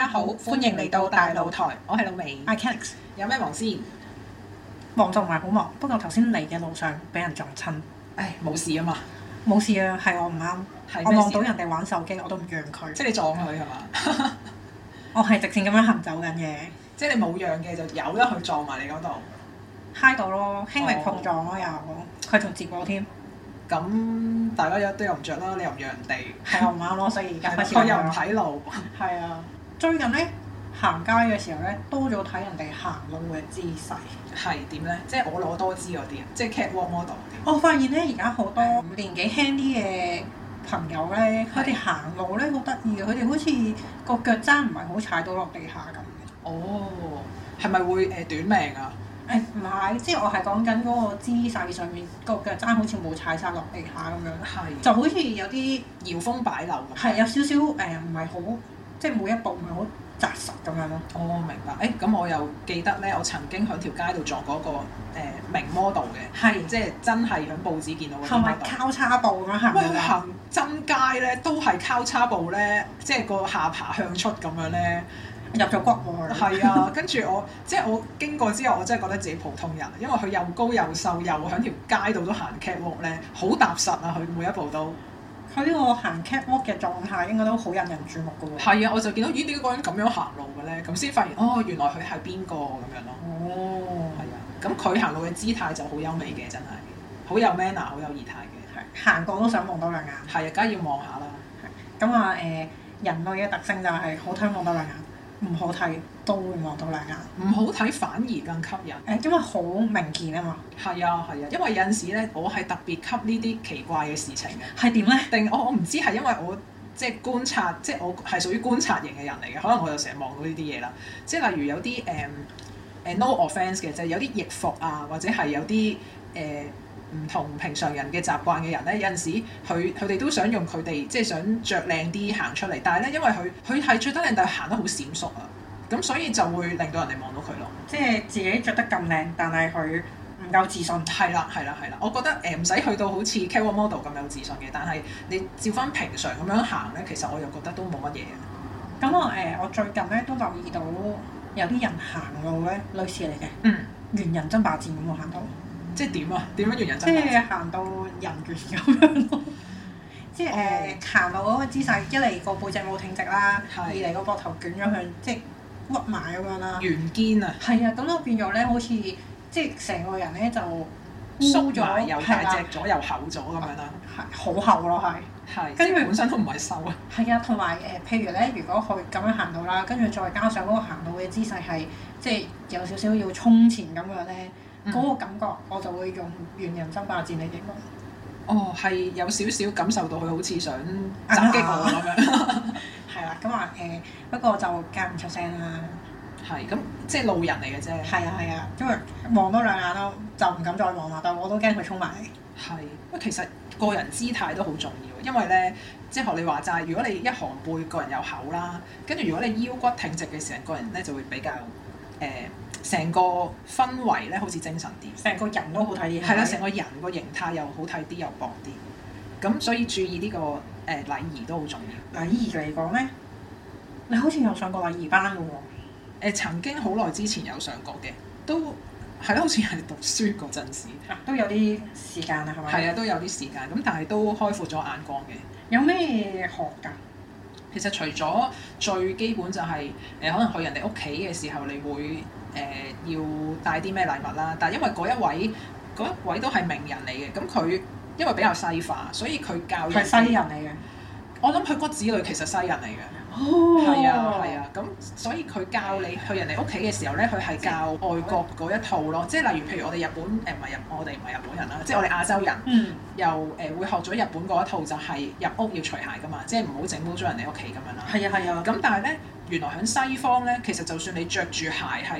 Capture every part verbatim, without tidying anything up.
好，歡迎嚟到大露台，我係老味。 I Canix 有咩忙先？ 忙就唔係好忙，不過頭先嚟嘅路上俾人撞親。 唉，冇事啊嘛。 冇事啊，係我唔啱。我望到人哋玩手機，我都唔讓佢。 即係你撞佢係嘛？ 我係直線咁樣行走緊嘅。 即係你冇讓嘅，就由得佢撞埋你嗰度。 揩到咯，輕微碰撞咯又，佢仲接我添。 咁大家都又唔着啦，你又唔讓人哋。 係我唔啱咯，所以而家開始。 佢又唔睇路。係啊，最近咧行街嘅時候咧，多咗睇人哋行路嘅姿勢。 係點咧？即係我攞多姿嗰啲啊，即係 catwalk model 嗰啲。 我發現咧，而家好多年紀輕啲嘅朋友咧，佢哋行路咧好得意嘅，佢哋好似個腳踭唔係好踩到落地下咁。 哦，係咪會誒、呃、短命啊？ 誒唔係，即係我係講緊嗰個姿勢上面個腳踭好似冇踩晒落地下咁樣， 係就好似有啲搖風擺柳咁。 係有少少誒，唔係好即係每一步唔係好紮實咁樣咯。 哦，明白。誒咁我又記得咧，我曾經喺條街度撞過一個誒、呃、名 model 嘅，係即係真係喺報紙見到嘅。係咪交叉步咁樣行？ 喂，行真街咧都係交叉步咧，即係個下巴向出咁樣咧。 入咗骨喎！ 係啊，跟住我即係我經過之後，我真係覺得自己普通人，因為佢又高又瘦，又喺條街度都行 catwalk 咧，好踏實啊！佢每一步都。 佢呢個行 catwalk 嘅狀態應該都好引人注目㗎喎。 係啊，我就見到咦點解個人咁樣行路嘅咧？咁先發現哦，原來佢係邊個咁樣咯。哦。係啊，咁佢行路嘅姿態就好優美嘅，真係好有 manner， 好有儀態嘅。 係行過都想望多兩眼。 係啊，梗係要望下啦。 係。咁啊誒，人類嘅特性就係好睇望多兩眼。唔好睇都會望到兩眼， 唔好睇反而更吸引。 誒，因為好明顯啊嘛。係啊係啊，因為有陣時咧，我係特別吸呢啲奇怪嘅事情嘅。 係點咧？ 定我我唔知係因為我即係觀察，即係我係屬於觀察型嘅人嚟嘅，可能我就成日望到呢啲嘢啦。即係例如有啲誒誒 no offence 嘅，就係有啲易服啊，或者係有啲誒唔同平常人嘅習慣嘅人咧，有陣時佢佢哋都想用佢哋即係想着靚啲行出嚟，但係咧因為佢佢係着得靚，但係行得好閃縮啊，咁所以就會令到人哋望到佢咯。即係自己着得咁靚，但係佢唔夠自信。 係啦係啦係啦，我覺得誒唔使去到好似 catwalk model 咁有自信嘅，但係你照翻平常咁樣行咧，其實我又覺得都冇乜嘢嘅。 咁我誒我最近咧都留意到有啲人行路咧，女士嚟嘅，嗯，猿人爭霸戰咁喎行到。 即係點啊？點樣猿人爭霸？ 即係行到人猿咁樣咯。即係誒行到嗰個姿勢，一嚟個背脊冇挺直啦，是二嚟個膊頭捲咗向，即係屈埋咁樣啦。圓肩啊！係啊，咁就變咗咧，好似即係成個人咧就縮咗，又大隻咗，又厚咗咁樣啦。 係好厚咯，係。係。跟住本身都唔係瘦啊。 係啊，同埋誒，譬如咧，如果佢咁樣行到啦，跟住再加上嗰個行到嘅姿勢係即係有少少要衝前咁樣咧。嗰、嗯、個感覺我就會用猿人爭霸戰嚟形容。 哦，係有少少感受到佢好似想襲擊我咁樣。 係啦，咁話誒，不過就間唔出聲啦。 係，咁即係路人嚟嘅啫。係啊係啊，因為望多兩眼咯，就唔敢再望啦，但我都驚佢衝埋嚟。 係，不過其實個人姿態都好重要，因為咧，即係學你話齋，如果你一寒背，個人又厚啦，跟住如果你腰骨挺直嘅時候，個人咧就會比較誒。呃成個氛圍咧好似精神啲， 成個人都好睇啲。 係啦，成個人個形態又好睇啲，又薄啲。咁所以注意呢、這個誒、呃、禮儀都好重要。 禮儀嚟講咧，你好似有上過禮儀班㗎喎、 呃。曾經好耐之前有上過嘅，都係咯，好似係讀書嗰陣時、 啊。都有啲時間啊，係咪？ 係啊，都有啲時間。咁但係都開闊咗眼光嘅。 有咩學㗎？ 其實除咗最基本就係、是、誒、呃，可能去人哋屋企嘅時候，你會。誒、呃、要帶啲咩禮物啦，但係因為嗰一位嗰一位都係名人嚟嘅，咁佢因為比較西化，所以佢教人係西人嚟嘅。 我諗佢骨子裏其實西人嚟嘅。 哦， 係啊係啊，咁所以佢教你去人哋屋企嘅時候咧，佢係教外國嗰一套咯，即係例如譬如我哋日本誒唔係日，我哋唔係日本人啦，即係我哋亞洲人，嗯、又誒、呃、會學咗日本嗰一套，就係入屋要除鞋噶嘛，即係唔好整污咗人哋屋企咁樣啦。 係啊係啊。 咁但係咧，原來喺西方咧，其實就算你着住鞋係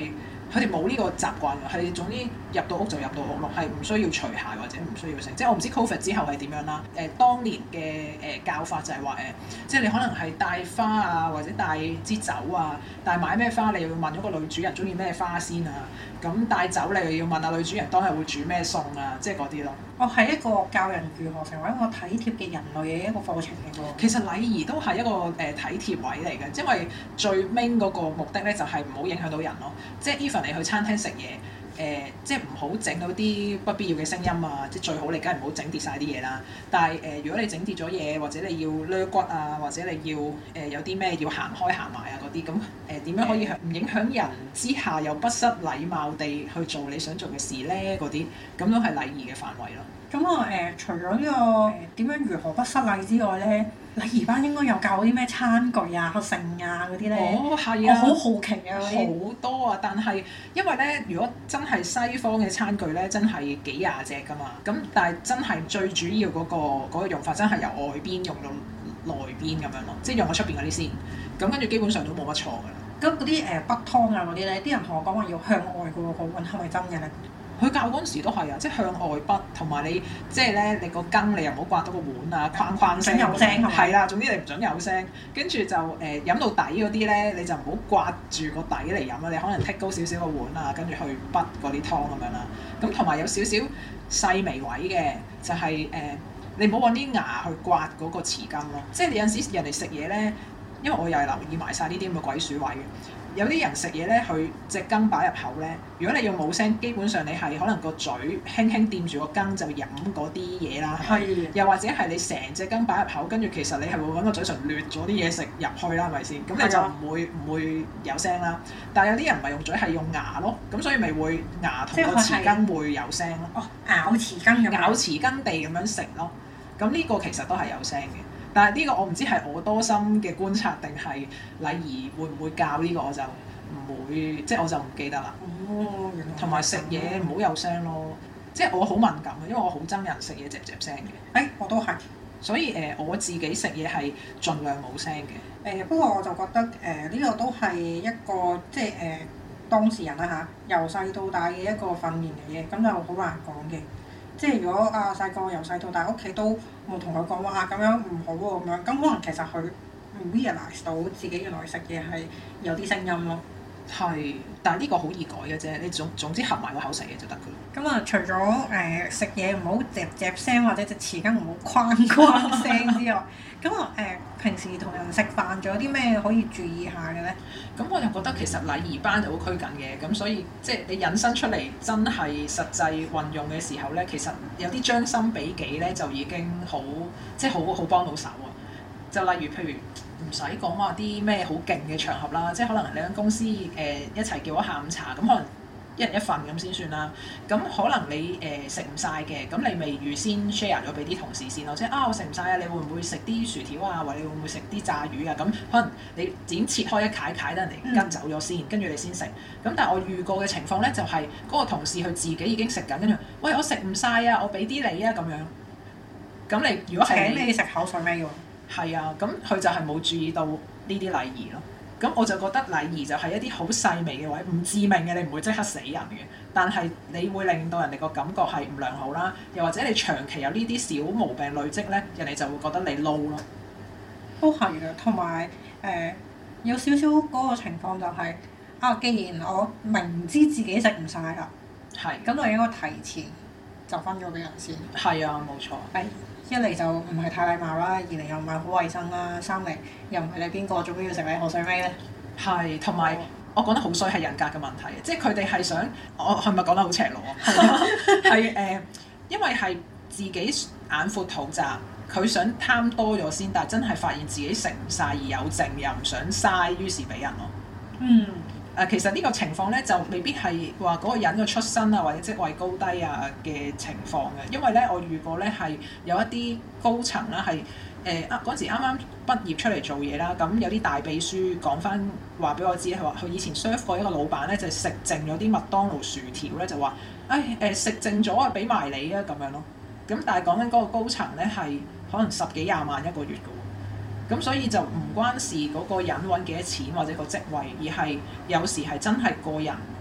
佢哋冇呢個習慣㗎，係總之入到屋就入到屋咯，係唔需要除鞋或者唔需要成。即係我唔知 Covid 之後係點樣啦。誒、呃，當年嘅誒、呃、教法就係話誒，即係你可能係帶花啊，或者帶支酒啊，但係買咩花你又要問咗個女主人中意咩花先啊。咁帶酒你又要問下女主人當日會煮咩餸啊，即係嗰啲咯。 哦，係一個教人如何成為一個體貼嘅人類嘅一個課程嚟㗎。 其實禮儀都係一個誒、呃、體貼位嚟嘅，因為最 main 嗰個目的咧就係唔好影響到人咯。即係 even 你去餐廳食嘢，誒、呃、即係唔好整到啲不必要嘅聲音啊！即係最好你梗係唔好整跌晒啲嘢啦。但係誒、呃，如果你整跌咗嘢，或者你要掠骨啊，或者你要誒、呃、有啲咩要行開行埋啊嗰啲，咁誒點樣可以唔影響人之下又不失禮貌地去做你想做嘅事咧？嗰啲咁都係禮儀嘅範圍咯。 咁我誒除咗呢、這個點樣如何不失禮之外咧，禮儀班應該有教啲咩餐具啊、剩啊嗰啲咧？ 哦，係啊， 我好好奇啊， 好多啊！但係因為咧，如果真係西方嘅餐具咧，真係幾廿隻㗎嘛。咁但係真係最主要嗰、那個那個用法，真係由外邊用到內邊咁樣咯，即係用咗出邊嗰啲先。咁跟住基本上都冇乜錯㗎啦。 咁嗰啲誒北湯啊嗰啲咧，啲人同我講話要向外嘅喎，個碗係咪真嘅咧？ 佢教嗰陣時都係啊，即係向外筆，同埋你即係咧，你個羹你又唔好刮到個碗啊，哐哐聲。 有聲係咪？ 係啦，總之你唔準有聲。跟住就誒、呃、飲到底嗰啲咧，你就唔好刮住個底嚟飲啦。你可能剔高少少個碗啊，跟住去筆嗰啲湯咁樣啦。咁同埋有少少細微位嘅，就係、是、誒、呃、你唔好揾啲牙去刮嗰個匙羹咯。即係你有陣時人哋食嘢咧，因為我又係留意埋晒呢啲咁嘅鬼鼠位嘅。有啲人食嘢咧，佢隻羹擺入口咧。如果你用冇聲，基本上你係可能個嘴輕輕掂住個羹就飲嗰啲嘢啦。係的。又或者係你成隻羹擺入口，跟住其實你係會揾個嘴唇掠咗啲嘢食入去啦，係咪先？咁你就唔會唔的會有聲啦。但係有啲人唔係用嘴，係用牙咯。咁所以咪會牙同個匙羹會有聲咯。 哦，咬匙羹咁。 咬匙羹地咁樣食咯。咁呢個其實都係有聲嘅。但係呢個我唔知係我多心嘅觀察定係禮儀會唔會教呢個，我就唔會，即係我就唔記得啦。 哦， 同埋食嘢唔好有聲咯，即係我好敏感嘅，因為我好憎人食嘢嚼嚼聲嘅。誒、 欸，我都係。所以誒、呃，我自己食嘢係盡量冇聲嘅。誒、 呃，不過我就覺得誒呢、呃這個都係一個即係誒、呃、當事人啦嚇，由細到大嘅一個訓練嚟嘅，咁就好難講嘅。即係如果啊細個由細到大屋企都冇同佢講話啊咁樣唔好喎咁樣，咁可能其實佢唔 realize 到自己原來食嘢係有啲聲音咯。係，但係呢個好易改嘅啫，你總總之合埋個口食嘢就得㗎啦。咁啊、 嗯，除咗誒、呃、食嘢唔好嚼嚼聲或者隻匙羹唔好哐哐聲之外，咁啊誒平時同人食飯仲有啲咩可以注意下嘅咧？咁我就覺得其實禮儀班就好拘謹嘅，咁所以即係你引申出嚟真係實際運用嘅時候咧，其實有啲將心比己咧就已經好即係好好幫到手啊！就例如譬如唔使講話啲咩好勁嘅場合啦，即係可能你間公司誒、呃、一齊叫咗下午茶，咁可能一人一份咁先算啦。咁可能你誒食唔晒嘅，咁、呃、你咪預先 share 咗俾啲同事先咯。即係啊，我食唔晒啊，你會唔會食啲薯條啊？或者你會唔會食啲炸魚啊？咁可能你點切開一塊塊得人哋跟走咗先，跟住你先食。咁但係我遇過嘅情況咧，就係、是、嗰個同事佢自己已經食緊，跟住喂我食唔晒啊，我俾啲你啊咁樣。咁你如果係請你食口水咩喎？係啊，咁佢就係冇注意到呢啲禮儀咯。咁我就覺得禮儀就係一啲好細微嘅位，唔致命嘅，你唔會即刻死人嘅。但係你會令到人哋個感覺係唔良好啦，又或者你長期有呢啲小毛病累積咧，人哋就會覺得你 low 咯。都係嘅，同埋誒有少少嗰個情況就係、是、啊，既然我明知自己食唔晒啦，係咁是我應該提前就分咗俾人先。係啊，冇錯。係。一嚟就唔係太禮貌啦，二嚟又唔係好衞生啦，三嚟又唔係你邊個，做咩要食你河水尾咧？係，同埋我講得好衰係人格嘅問題，即係佢哋係想，我係咪講得好赤裸啊？係誒、呃，因為係自己眼闊肚窄，佢想貪多咗先，但係真係發現自己食唔晒而有剩，又唔想嘥，於是俾人咯。嗯。誒、呃，其實呢個情況咧就未必係話嗰個人嘅出身啊，或者職位高低啊嘅情況嘅，因為咧我遇過咧係有一啲高層啦係誒啊嗰陣時啱啱畢業出嚟做嘢啦，咁有啲大秘書講翻話俾我知，佢話佢以前 serve 過一個老闆咧，就食剩咗啲麥當勞薯條咧，就話誒誒食剩咗啊，俾埋你啊咁樣咯。咁但係講緊嗰個高層咧係可能十幾廿萬一個月嘅。咁所以就唔關事嗰個人揾幾多錢或者個職位，而係有時係真係個人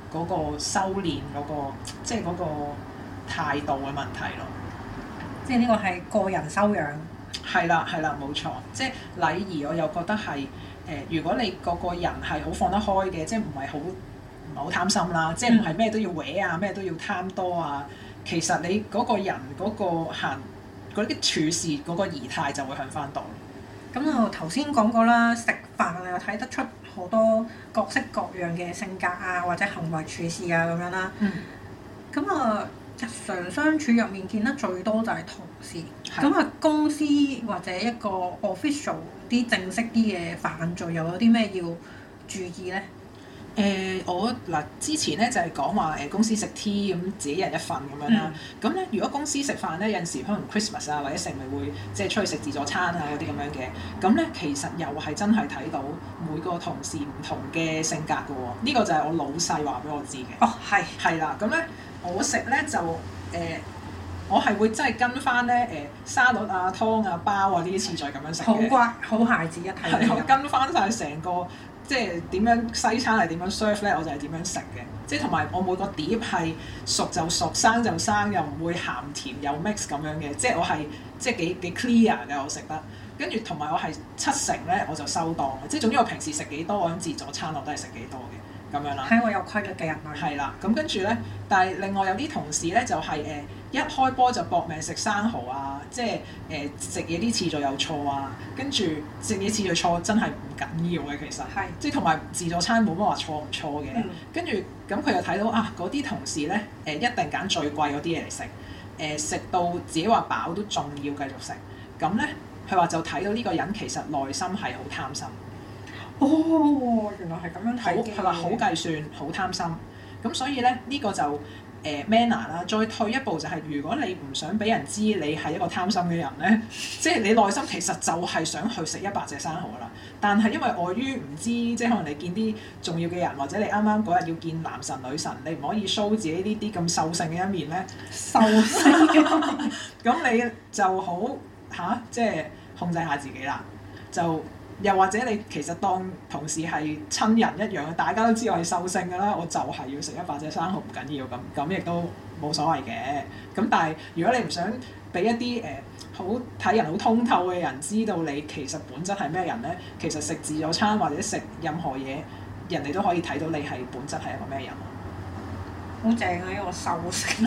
嗰個修練嗰個即係嗰個態度嘅問題咯。 即係呢個係個人修養。 係啦係啦，冇錯。即係禮儀，我又覺得係誒、呃，如果你個個人係好放得開嘅，即係唔係好唔係好貪心啦，即係唔係咩都要搲啊，咩都要貪多啊。其實你嗰個人嗰個行嗰啲處事嗰個儀態就會向翻度。 咁我頭先講過啦，食飯又睇得出好多各式各樣嘅性格啊，或者行為處事啊咁樣啦。咁啊、嗯，日常相處入面見得最多就係同事。咁啊的，公司或者一個 official 啲正式啲嘅範疇，又有啲咩要注意咧？ 誒、呃、我嗱之前咧就係講話誒公司食 tea 咁自己一人一份咁樣啦。咁咧、嗯、如果公司食飯咧，有陣時可能 Christmas 啊或者成日會即係出去食自助餐啊嗰啲咁樣嘅。咁咧其實又係真係睇到每個同事唔同嘅性格㗎喎。呢、這個就係我老細話俾我知嘅。 哦，係係啦。咁咧我食咧就誒、呃、我係會真係跟翻咧誒沙律啊湯啊包啊呢啲次序咁樣食嘅。好乖，好孩子一睇。 係我跟翻晒成個。即係點樣西餐係點樣 serve 咧，我就係點樣食嘅。即係同埋我每個碟係熟就熟，生就生，又唔會鹹甜又 mix 咁樣嘅。即係我係即係幾幾 clear 嘅，我食得。跟住同埋我係七成咧我就收檔嘅。即係總之我平時食幾多，我諗自助餐我都係食幾多嘅咁樣啦。 係我有規律嘅人類。係啦，咁跟住咧，但係另外有啲同事咧就係、是、誒。呃一開波就搏命食生蠔啊！即係誒食嘢啲次序有錯啊，跟住食嘢次序錯真係唔緊要嘅，其實係即係同埋自助餐冇乜話錯唔錯嘅。跟住咁佢又睇到啊，嗰啲同事咧誒、呃、一定揀最貴嗰啲嘢嚟食，誒、呃、食到自己話飽都仲要繼續食。咁咧佢話就睇到呢個人其實內心係好貪心。 哦，原來係咁樣睇嘅。 佢話好計算，好貪心。咁所以咧呢、呢個就。誒 manner 啦，再退一步就係、是，如果你唔想俾人知你係一個貪心嘅人咧，即係你內心其實就係想去食一百隻生蠔啦。但係因為礙於唔知，即係可能你見啲重要嘅人，或者你啱啱嗰日要見男神女神，你唔可以 show 自己呢啲咁獸性嘅一面咧。 獸性嘅， 咁你就好嚇、啊，即係控制下自己啦，就。又或者你其實當同事係親人一樣，大家都知我係獸性㗎啦，我就係要食一百隻生蠔唔緊要咁，咁亦都冇所謂嘅。咁但係如果你唔想俾一啲誒好睇人好通透嘅人知道你其實本質係咩人咧，其實食自助餐或者食任何嘢，人哋都可以睇到你係本質係一個咩人。 好正啊！呢個獸性，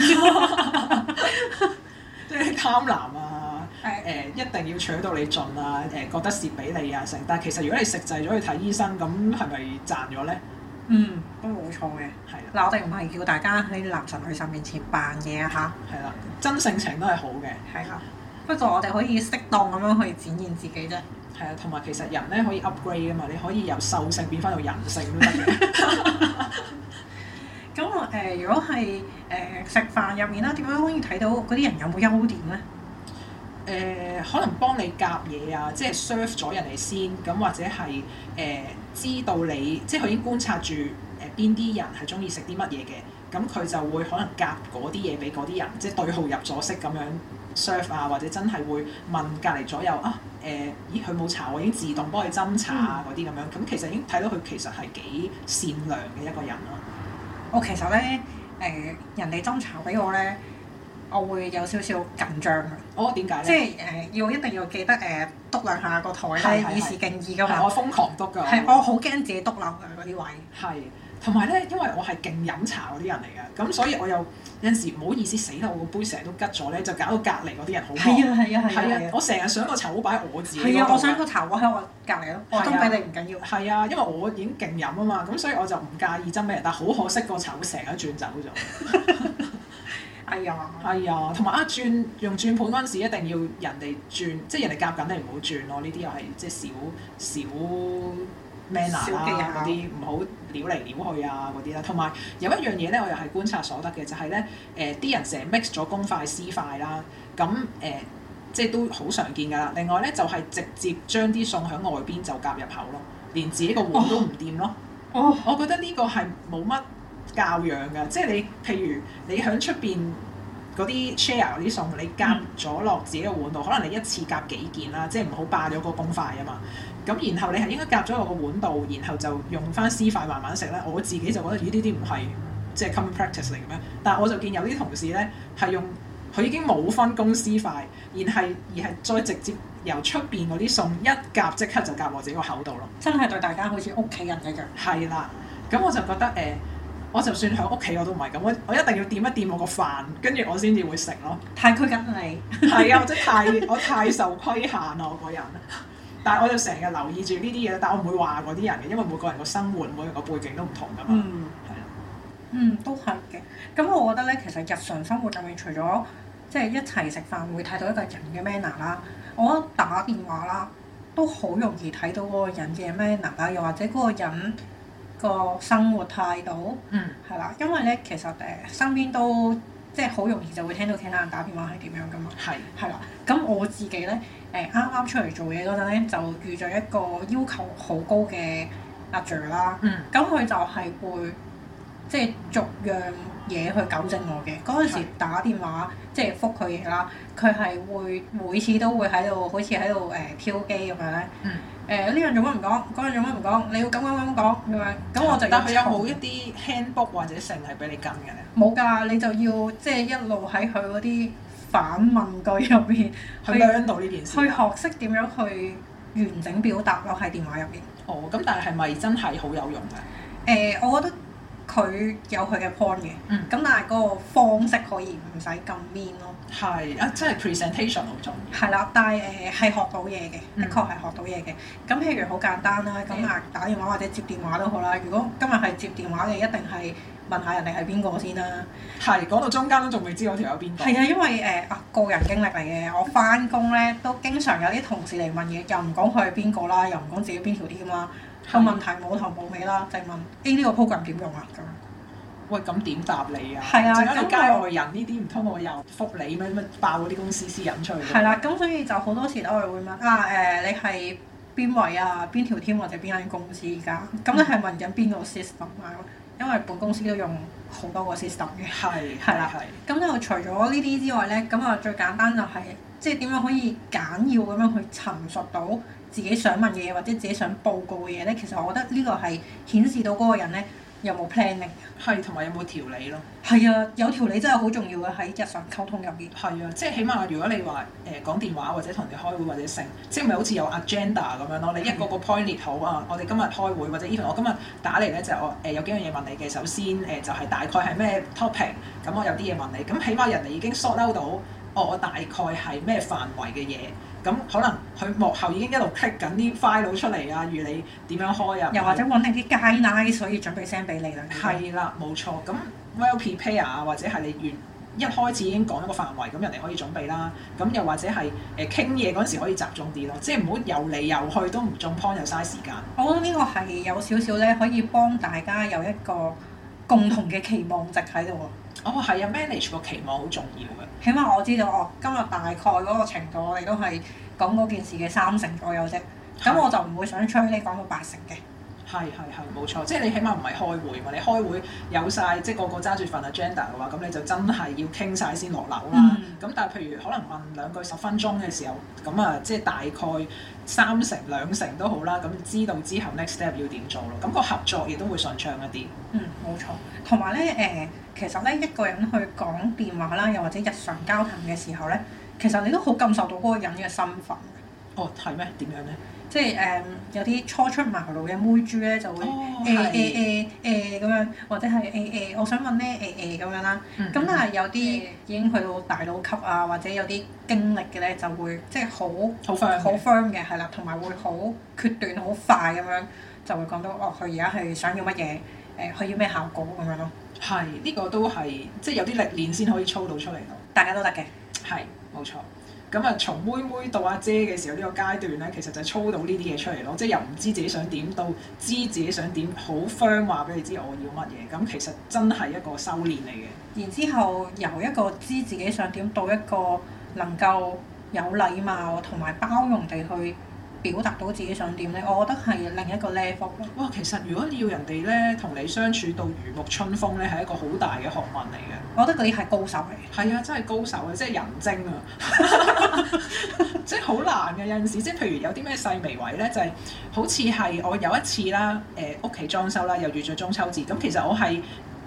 即係貪婪啊！誒、呃、一定要搶到你盡啊！誒、呃、覺得蝕俾你啊成，但係其實如果你食滯咗去睇醫生，咁係咪賺咗咧？ 嗯，都冇錯嘅。係啦的，嗱我哋唔係叫大家喺男神女神面前扮嘢啊嚇。係啦， 真性情都係好嘅。 係啦，不過我哋可以適當咁樣去展現自己啫。 係啊，同埋其實人咧可以 upgrade 啊嘛，你可以由獸性變翻到人性都得嘅。 咁我誒如果係誒、呃、食飯入面啦，點樣可以睇到嗰啲人有冇優點咧？ 誒、呃、可能幫你夾嘢啊，即係 serve 咗人哋先，咁或者係誒、呃、知道你，即係佢已經觀察住誒邊啲人係中意食啲乜嘢嘅，咁佢就會可能夾嗰啲嘢俾嗰啲人，即係對號入座式咁樣 serve 啊，或者真係會問隔離左右啊誒、呃，咦佢冇茶，我已經自動幫佢斟茶啊嗰啲咁樣，咁其實已經睇到佢其實係幾善良嘅一個人咯。 我其實咧誒、呃、人哋斟茶俾我咧。我會有少少緊張嘅。 哦，點解咧？ 即係誒、呃，要一定要記得誒，篤、呃、兩下個台咧，以示敬意㗎嘛。 我瘋狂篤㗎。 係，我好驚自己篤漏嘅嗰啲位。 係，同埋咧，因為我係勁飲茶嗰啲人嚟嘅，咁所以我又有陣時唔好意思死啦，我個杯成日都吉咗咧，就搞到隔離嗰啲人好忙。 係啊係啊係啊！ 係啊，我成日想個茶壺擺喺我自己。 係啊，我想個茶壺喺我隔離咯，我斟俾你唔緊要。 係啊，因為我已經勁飲啊嘛，咁所以我就唔介意斟俾人，但係好可惜個茶壺成日轉走咗。 哎呀， 係啊，同埋啊轉用轉盤嗰陣時一定要人哋轉，即係人哋夾緊你唔好轉咯。呢啲又係即係小小 manner 啦，嗰啲唔好撩嚟撩去啊嗰啲啦。同埋有，有一樣嘢咧，我又係觀察所得嘅，就係咧誒啲人成日 mix 咗公筷私筷啦，咁誒、呃、即係都好常見㗎啦。另外咧就係、是、直接將啲餸喺外邊就夾入口咯，連自己個碗都唔掂咯。哦，我覺得呢個係冇乜教養㗎，即係你譬如你喺出邊嗰啲 share 嗰啲餸，你夾咗落自己嘅碗度，可能你一次夾幾件啦，即係唔好霸咗個公筷啊嘛。咁然後你係應該夾咗落個碗度，然後就用翻私筷慢慢食咧。我自己就覺得咦呢啲唔係即係 common practice 嚟嘅咩？但係我就見有啲同事咧係用佢已經冇分公司費，而係而係再直接由出邊嗰啲餸一夾即刻就夾我自己個口度咯。 真係對大家好似屋企人一樣。 係啦，咁我就覺得誒、呃，我就算喺屋企我都唔係咁，我我一定要掂一掂我個飯，跟住我先至會食咯。 太拘謹你。係啊，或者太我太受規限啦，我個人。但係我就成日留意住呢啲嘢，但係我唔會話嗰啲人嘅，因為每個人個生活、每個人個背景都唔同噶嘛。 嗯，係啦。嗯，都係嘅。咁我覺得咧，其實日常生活入面，除咗即係一齊食飯會睇到一個人嘅 manner 啦，我覺得打電話啦都好容易睇到嗰個人嘅 manner 啦，又或者嗰個人個生活態度。嗯。係啦，因為咧其實誒身邊都即係好容易就會聽到其他人打電話係點樣噶嘛。係。係啦，咁我自己咧。誒啱啱出嚟做嘢嗰陣咧，就遇咗一個要求好高嘅阿 Sir 啦。嗯。咁佢就係會即係逐樣嘢去糾正我嘅。嗰陣時打電話即係覆佢嘢啦，佢係會每次都會喺度好似喺度誒挑機咁樣咧。嗯。誒呢樣做乜唔講？嗰樣做乜唔講？你要咁咁咁講咁樣。咁我就但係有冇一啲 handbook 或者成係俾你跟嘅咧？冇㗎，你就要即係一路喺佢嗰啲反問句入邊去 learn 到呢件事，去學識點樣去完整表達咯喺電話入邊。哦，咁但係係咪真係好有用嘅？誒、呃，我覺得佢有佢嘅 point 嘅，咁、嗯、但係嗰個方式可以唔使咁 mean 咯。係啊，即係 presentation 好重要。係啦，但係誒係學到嘢嘅，的確係學到嘢嘅。咁、嗯、譬如好簡單啦，咁啊打電話或者接電話都好啦。如果今日係接電話嘅，一定係問下人哋係邊個先啦。係講到中間都仲未知嗰條有邊個。係啊，因為誒啊個人經歷嚟嘅，我翻工咧都經常有啲同事嚟問嘢，又唔講佢係邊個啦，又唔講自己邊條 team 啦，個問題冇頭冇尾啦，就係問 A 呢個 program 點用啊咁。喂，咁點答你啊？係啊，陣間你街外人呢啲唔通我又覆你咩咩爆嗰啲公司私隱出去？係啦，咁所以就好多時都係會問啊誒、呃，你係邊位啊？邊條 team 或者邊間公司而家？咁你係問緊邊個 system 啊？因為本公司都用好多個 system 嘅。係係啦，咁就除咗呢啲之外咧，咁啊最簡單就係即係點樣可以簡要咁樣去陳述到自己想問嘅嘢或者自己想報告嘅嘢咧？其實我覺得呢個係顯示到嗰個人咧有冇 planning，係同埋有冇條理咯。係啊，有條理真係好重要嘅喺日常溝通入邊。係啊，即係起碼如果你話誒講電話或者同人哋開會或者成，即係咪好似有 agenda 咁樣咯？你一個個 point 列好啊，我哋今日開會或者 even 我今日打嚟咧就我誒有幾樣嘢問你嘅。首先誒就係大概係咩 topic，咁我有啲嘢問你，咁起碼人哋已經 sort out 到，哦我大概係咩範圍嘅嘢。咁可能佢幕後已經一路 click 緊啲 file 出嚟啊，預你點樣開啊，又或者揾定啲 guideline，所以準備 send 俾你啦。係啦，冇錯。咁 well prepare 啊，或者係你原一開始已經講一個範圍，咁人哋可以準備啦。咁又或者係誒傾嘢嗰陣時可以集中啲咯，即係唔好遊嚟遊去都唔中 point 又嘥時間。我覺得呢個係有少少咧，可以幫大家有一個共同嘅期望值喺度。哦，係啊 ，manage 個期望好重要嘅。起碼我知道，哦，今日大概嗰個程度，我哋都係講嗰件事嘅三成左右啫。咁我就唔會想催你講到八成嘅。係係係，冇錯。即係你起碼唔係開會嘛？你開會有晒，即係個個揸住份 agenda 嘅話，咁你就真係要傾晒先落樓啦。咁、嗯、但係譬如可能問兩句十分鐘嘅時候，咁啊，即係大概三成兩成都好啦。咁知道之後 next step 要點做咯。咁、個合作亦都會順暢一啲。嗯，冇錯。同埋咧，誒、呃，其實咧一個人去講電話啦，又或者日常交談嘅時候咧，其實你都好感受到嗰個人嘅身份。哦，係咩？點樣咧？即係誒、嗯、有啲初出茅廬嘅妹豬咧，就會誒誒誒誒咁樣，或者係誒誒，我想問咧誒誒咁樣啦。咁、嗯、但係有啲已經去到大佬級啊，或者有啲經歷嘅咧，就會即係好好 firm 好 firm 嘅，係啦，同埋會好決斷、好快咁樣，就會講到哦，佢而家係想要乜嘢，誒、呃，佢要咩效果咁樣咯。係，呢、呢個都係即係有啲歷練先可以操到出嚟咯。大家都得嘅。係，冇錯。咁啊，從妹妹到阿姐嘅時候呢個階段咧，其實就係操到呢啲嘢出嚟咯，即係由唔知自己想點到知自己想點，好 firm 話俾你知我要乜嘢，咁其實真係一個修練嚟嘅。然之後由一個知自己想點到一個能夠有禮貌同埋包容地去表達到自己想點咧，我覺得係另一個 level。哇，其實如果要人哋咧同你相處到如沐春風咧，係一個好大嘅學問嚟嘅。我覺得嗰啲係高手嚟。係啊，真係高手啊，即係人精啊！即係好難嘅有陣時，即係譬如有啲咩細微位咧，就係、是、好似係我有一次啦，誒屋企裝修啦，又遇咗中秋節，咁其實我係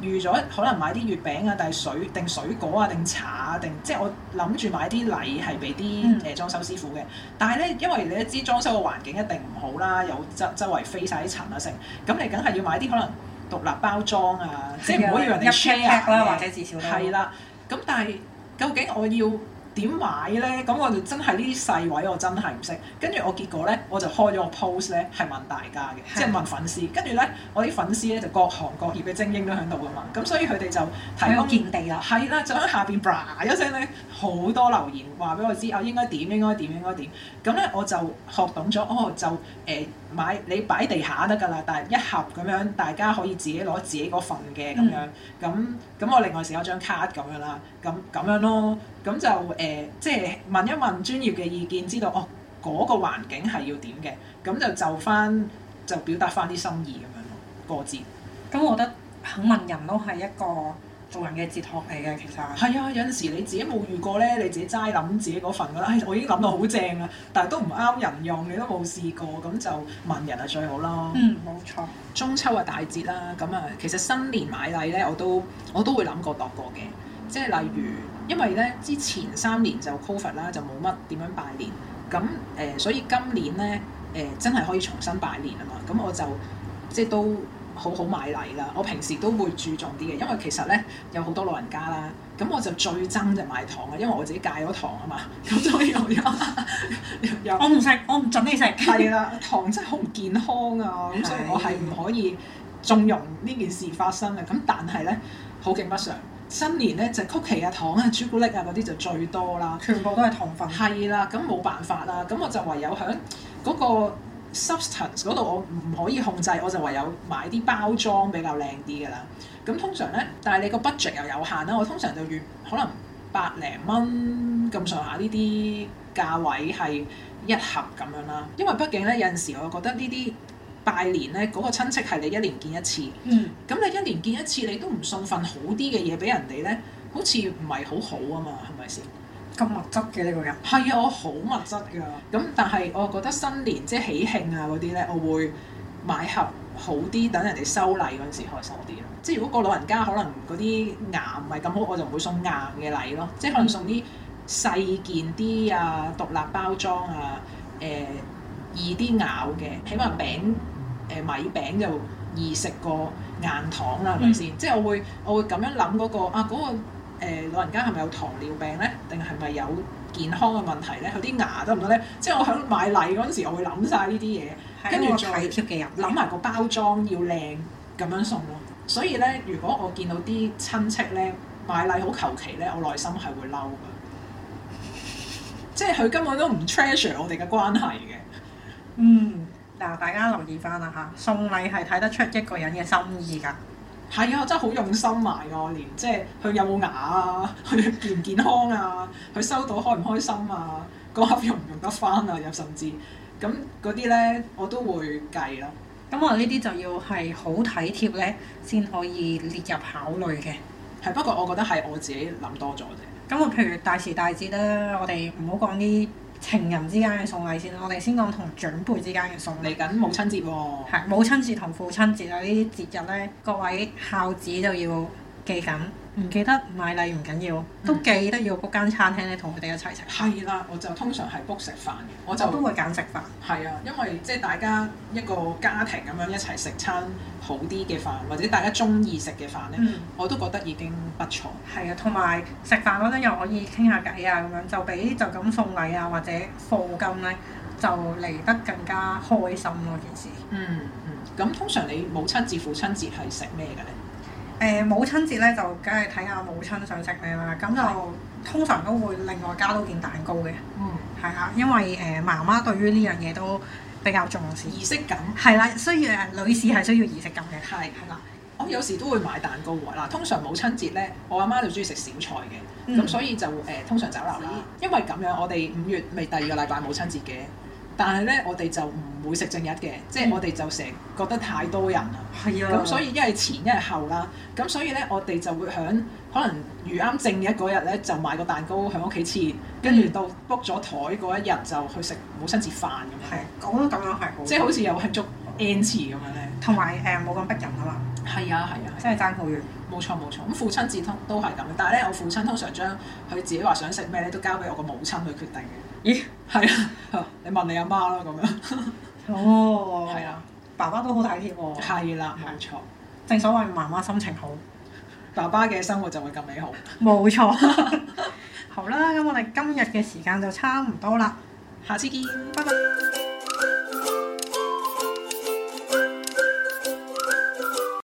預咗可能買啲月餅啊，定水定水果啊，定茶啊，定即係我諗住買啲禮係俾啲誒裝修師傅嘅。但係咧，因為你都知裝修嘅環境一定唔好啦，有周周圍飛晒啲塵啊成，咁你梗係要買啲可能獨立包裝啊，即係唔好要人哋 share 啦，或者至少係啦。咁但係究竟我要點買咧？咁我就真係呢啲細位我真係唔識。跟住我結果咧，我就開咗個 post 咧，係問大家嘅，即係問粉絲。跟住咧，我啲粉絲咧就各行各業嘅精英都喺度噶嘛。咁所以佢哋就提供見地啦。係啦，就喺下邊 bra 一聲咧，好多留言話俾我知，我應該點應該點應該點。咁咧我就學懂咗，哦就誒、呃、買你擺地下得㗎啦，但係一盒咁樣大家可以自己攞自己嗰份嘅咁樣。咁咁、嗯、我另外寫咗張卡咁樣啦，咁咁樣咯。咁就誒、呃，即係問一問專業嘅意見，知道哦嗰、那個環境係要點嘅，咁就就翻就表達翻啲心意咁樣咯，過節。 咁我覺得肯問人都係一個做人嘅哲學嚟嘅，其實。係啊，有陣時你自己冇遇過咧，你自己齋諗自己嗰份覺得，唉、哎，我已經諗到好正啦，但係都唔啱人用，你都冇試過，咁就問人係最好咯。 嗯，冇錯。 中秋啊大節啦，咁啊，其實新年買禮咧，我都我都會諗過度過嘅，即係例如。因為咧之前三年就 Covid 啦，就冇乜點樣拜年，咁誒、呃、所以今年咧誒、呃、真係可以重新拜年啊嘛，咁我就即係都好好買禮啦。我平時都會注重啲嘅，因為其實咧有好多老人家啦，咁我就最憎就買糖啊，因為我自己戒咗糖啊嘛，咁所以我有我唔食，我唔準你食。 係啦，糖真係好唔健康啊，咁所以我係唔可以縱容呢件事發生嘅。咁但係咧好景不常。新年咧就曲奇啊、糖啊、朱古力啊嗰啲就最多啦， 全部都係糖分。 係啦，咁冇辦法啦，咁我就唯有喺嗰個 substance 嗰度我唔可以控制，我就唯有買啲包裝比較靚啲嘅啦。咁通常咧，但係你個 budget 又有限啦，我通常就預可能百零蚊咁上下呢啲價位係一盒咁樣啦。因為畢竟咧有陣時我覺得呢啲拜年咧嗰個親戚係你一年見一次，咁、嗯、你一年見一次你都唔送份好啲嘅嘢俾人哋咧，好似唔係好好啊嘛，係咪先？ 咁物質嘅呢個人？ 係啊，我好物質㗎。咁但係我覺得新年即係喜慶啊嗰啲咧，我會買盒好啲，等人哋收禮嗰陣時開心啲咯。即係如果個老人家可能嗰啲牙唔係咁好，我就唔會送硬嘅禮咯，即係可能送啲細件啲啊、獨立包裝啊、誒、呃、易啲咬嘅，起碼餅。誒、呃、米餅就易食過硬糖啦，係咪先？即係我會我會咁樣諗嗰、那個啊嗰、那個、呃、老人家係咪有糖尿病咧？定係咪有健康嘅問題咧？佢啲牙得唔得咧？即係我喺買禮嗰陣時，我會諗晒呢啲嘢，跟住再體貼嘅人諗埋個包裝要靚咁樣送咯。所以咧，如果我見到啲親戚咧買禮好求其咧，我內心係會嬲㗎，即係佢根本都唔 treasure 我哋嘅關係嘅。 嗯。嗱，大家留意翻啦嚇，送禮係睇得出一個人嘅心意㗎。 係啊，真係好用心埋㗎，連即係佢有冇牙啊，佢健唔健康啊，佢收到開唔開心啊，嗰盒用唔用得翻啊，又甚至咁嗰啲咧，我都會計啦。 咁我呢啲就要係好體貼咧，先可以列入考慮嘅。 係，不過我覺得係我自己諗多咗啫。 咁我譬如大時大節啦，我哋唔好講啲情人之間嘅送禮先啦，我哋先講同長輩之間嘅送禮。 嚟緊母親節喎、哦。 係母親節同父親節啊！呢啲節日咧，各位孝子就要記緊，唔記得買禮唔緊要，都記得要 book 間餐廳咧，同佢哋一齊食。 係啦，我就通常係 book 食飯嘅，我就我都會揀食飯。 係啊，因為即係大家一個家庭咁樣一齊食餐好啲嘅飯，或者大家中意食嘅飯咧，嗯、我都覺得已經不錯。 係啊，同埋食飯嗰陣又可以傾下偈啊，咁樣就比就咁送禮啊或者課金咧，就嚟得更加開心咯件事。 嗯嗯，咁通常你母親節、父親節係食咩嘅咧？ 誒、呃、母親節咧就梗係睇下母親想食咩啦，咁就的通常都會另外加多件蛋糕嘅。嗯，係啊，因為誒、呃、媽媽對於呢樣嘢都比較重視儀式感。 係啦，需要誒女士係需要儀式感嘅。係係啦， 我有時都會買蛋糕喎。嗱，通常母親節咧，我阿媽就中意食小菜嘅，咁、嗯、所以就誒、呃、通常酒樓啦。因為咁樣，我哋五月咪第二個禮拜母親節嘅。但係咧，我哋就唔會食正日嘅，即係我哋就成日覺得太多人啦。係啊、嗯。咁所以一係前一係後啦。咁所以咧，我哋就會響可能預啱正日嗰日咧，就買個蛋糕喺屋企切，跟住到 book 咗台嗰一日就去食母親節飯咁樣。係， 我覺得咁樣係好。 即係好似有慶祝 N 次咁樣咧。 同埋誒冇咁逼人啊嘛。 係啊係啊， 真係爭好遠。 冇錯冇錯，咁父親節通都係咁嘅，但係咧我父親通常將佢自己話想食咩咧，都交俾我個母親去決定嘅。咦？係啊，你問你阿媽啦咁樣。 哦。 係啊， 爸爸都好體貼喎。 係啦，冇錯。 正所謂媽媽心情好， 爸爸嘅生活就會咁美好。 冇錯。好啦，咁我哋今日嘅時間就差唔多啦， 下次見， 拜拜。